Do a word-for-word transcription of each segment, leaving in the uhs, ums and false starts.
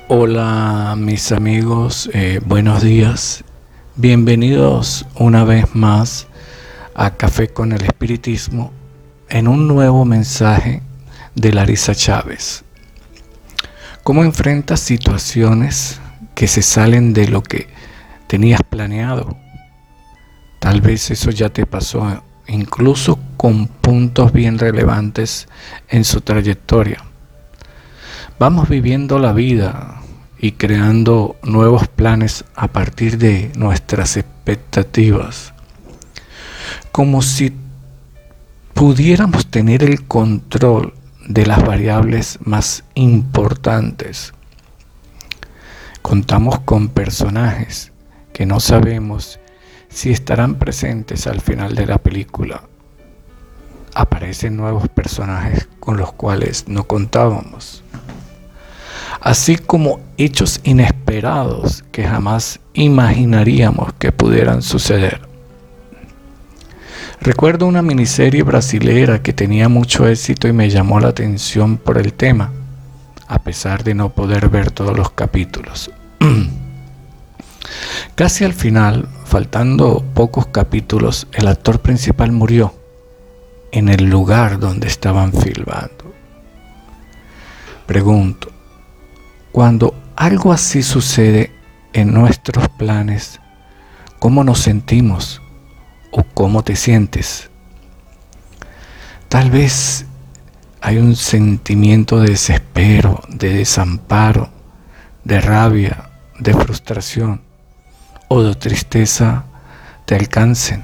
Hola mis amigos, eh, buenos días. Bienvenidos una vez más a Café con el Espiritismo en un nuevo mensaje de Larisa Chávez. ¿Cómo enfrentas situaciones que se salen de lo que tenías planeado? Tal vez eso ya te pasó, incluso con puntos bien relevantes en su trayectoria. Vamos viviendo la vida y creando nuevos planes a partir de nuestras expectativas, como si pudiéramos tener el control de las variables más importantes. Contamos con personajes que no sabemos si estarán presentes al final de la película. Aparecen nuevos personajes con los cuales no contábamos, así como hechos inesperados que jamás imaginaríamos que pudieran suceder. Recuerdo una miniserie brasilera que tenía mucho éxito y me llamó la atención por el tema, a pesar de no poder ver todos los capítulos. Casi al final, faltando pocos capítulos, el actor principal murió en el lugar donde estaban filmando. Pregunto, cuando algo así sucede en nuestros planes, ¿cómo nos sentimos o cómo te sientes? Tal vez hay un sentimiento de desespero, de desamparo, de rabia, de frustración o de tristeza te alcancen.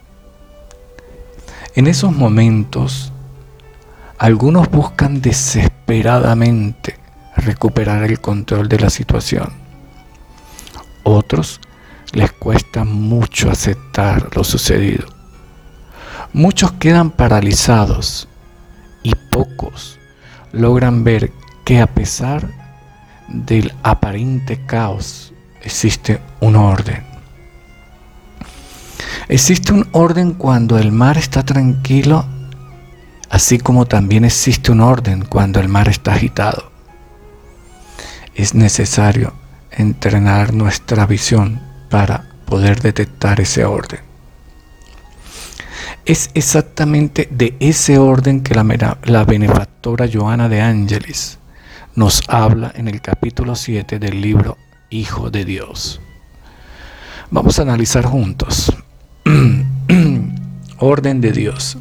En esos momentos, algunos buscan desesperadamente recuperar el control de la situación. Otros les cuesta mucho aceptar lo sucedido. Muchos quedan paralizados y pocos logran ver que a pesar del aparente caos existe un orden. Existe un orden cuando el mar está tranquilo, así como también existe un orden cuando el mar está agitado. Es necesario entrenar nuestra visión para poder detectar ese orden. Es exactamente de ese orden que la, la benefactora Joana de Ángelis nos habla en el capítulo siete del libro Hijo de Dios. Vamos a analizar juntos. Orden de Dios.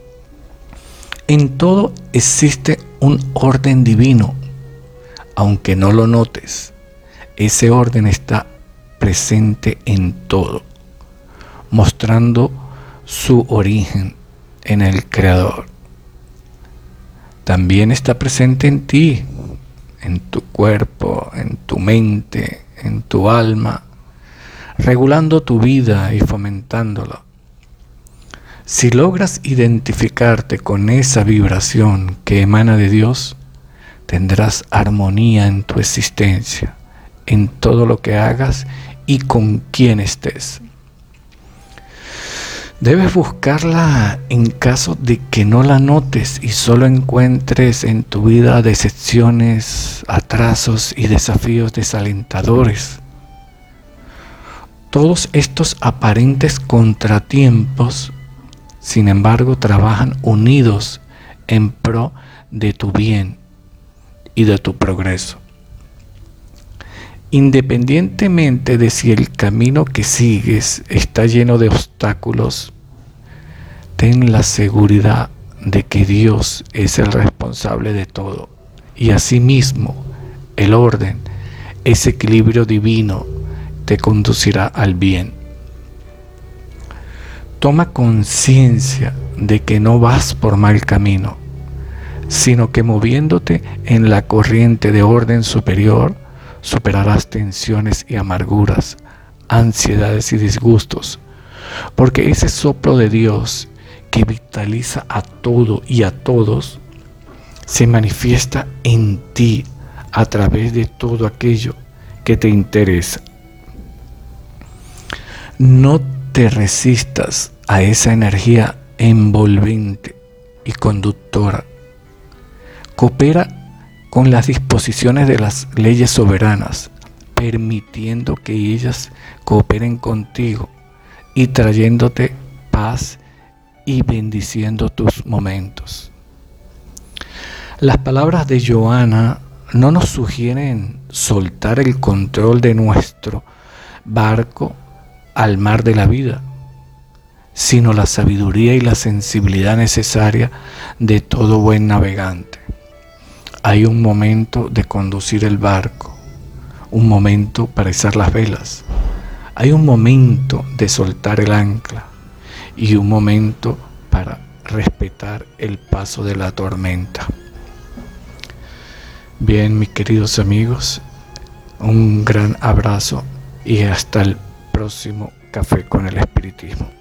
En todo existe un orden divino. Aunque no lo notes, ese orden está presente en todo, mostrando su origen en el Creador. También está presente en ti, en tu cuerpo, en tu mente, en tu alma, regulando tu vida y fomentándola. Si logras identificarte con esa vibración que emana de Dios, tendrás armonía en tu existencia, en todo lo que hagas y con quien estés. Debes buscarla en caso de que no la notes y solo encuentres en tu vida decepciones, atrasos y desafíos desalentadores. Todos estos aparentes contratiempos, sin embargo, trabajan unidos en pro de tu bien y de tu progreso. Independientemente de si el camino que sigues está lleno de obstáculos, ten la seguridad de que Dios es el responsable de todo y asimismo el orden, ese equilibrio divino te conducirá al bien. Toma conciencia de que no vas por mal camino, sino que moviéndote en la corriente de orden superior, superarás tensiones y amarguras, ansiedades y disgustos, porque ese soplo de Dios que vitaliza a todo y a todos, se manifiesta en ti a través de todo aquello que te interesa. No te resistas a esa energía envolvente y conductora. Coopera con las disposiciones de las leyes soberanas, permitiendo que ellas cooperen contigo y trayéndote paz y bendiciendo tus momentos. Las palabras de Johanna no nos sugieren soltar el control de nuestro barco al mar de la vida, sino la sabiduría y la sensibilidad necesaria de todo buen navegante. Hay un momento de conducir el barco, un momento para izar las velas, hay un momento de soltar el ancla y un momento para respetar el paso de la tormenta. Bien, mis queridos amigos, un gran abrazo y hasta el próximo Café con el Espiritismo.